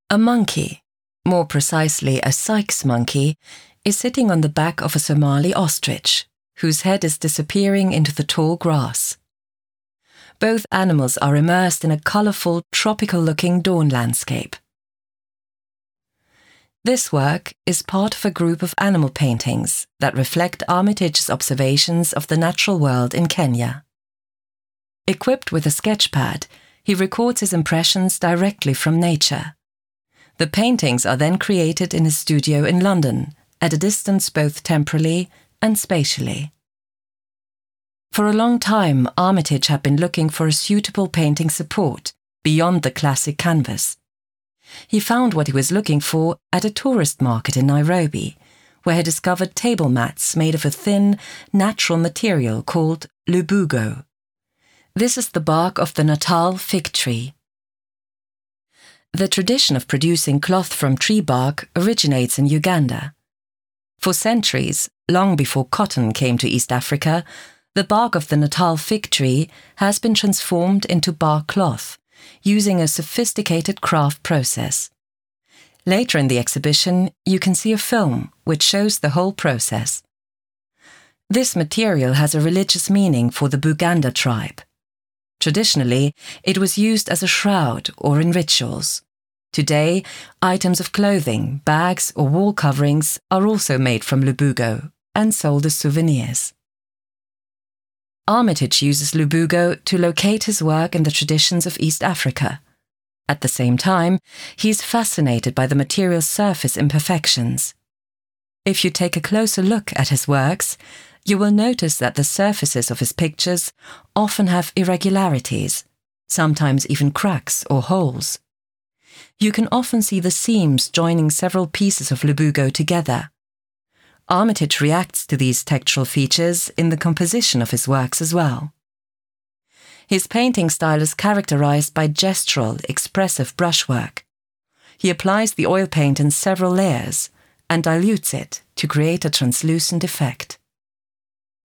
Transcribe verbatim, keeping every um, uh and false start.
A monkey, more precisely a Sykes monkey, is sitting on the back of a Somali ostrich, whose head is disappearing into the tall grass. Both animals are immersed in a colourful, tropical-looking dawn landscape. This work is part of a group of animal paintings that reflect Armitage's observations of the natural world in Kenya. Equipped with a sketchpad, he records his impressions directly from nature. The paintings are then created in his studio in London, at a distance both temporally and spatially. For a long time, Armitage had been looking for a suitable painting support beyond the classic canvas. He found what he was looking for at a tourist market in Nairobi, where he discovered table mats made of a thin, natural material called lubugo. This is the bark of the Natal fig tree. The tradition of producing cloth from tree bark originates in Uganda. For centuries, long before cotton came to East Africa, the bark of the Natal fig tree has been transformed into bark cloth, using a sophisticated craft process. Later in the exhibition, you can see a film which shows the whole process. This material has a religious meaning for the Buganda tribe. Traditionally, it was used as a shroud or in rituals. Today, items of clothing, bags or wall coverings are also made from lubugo and sold as souvenirs. Armitage uses lubugo to locate his work in the traditions of East Africa. At the same time, he is fascinated by the material's surface imperfections. If you take a closer look at his works, you will notice that the surfaces of his pictures often have irregularities, sometimes even cracks or holes. You can often see the seams joining several pieces of lubugo together. Armitage reacts to these textural features in the composition of his works as well. His painting style is characterized by gestural, expressive brushwork. He applies the oil paint in several layers and dilutes it to create a translucent effect.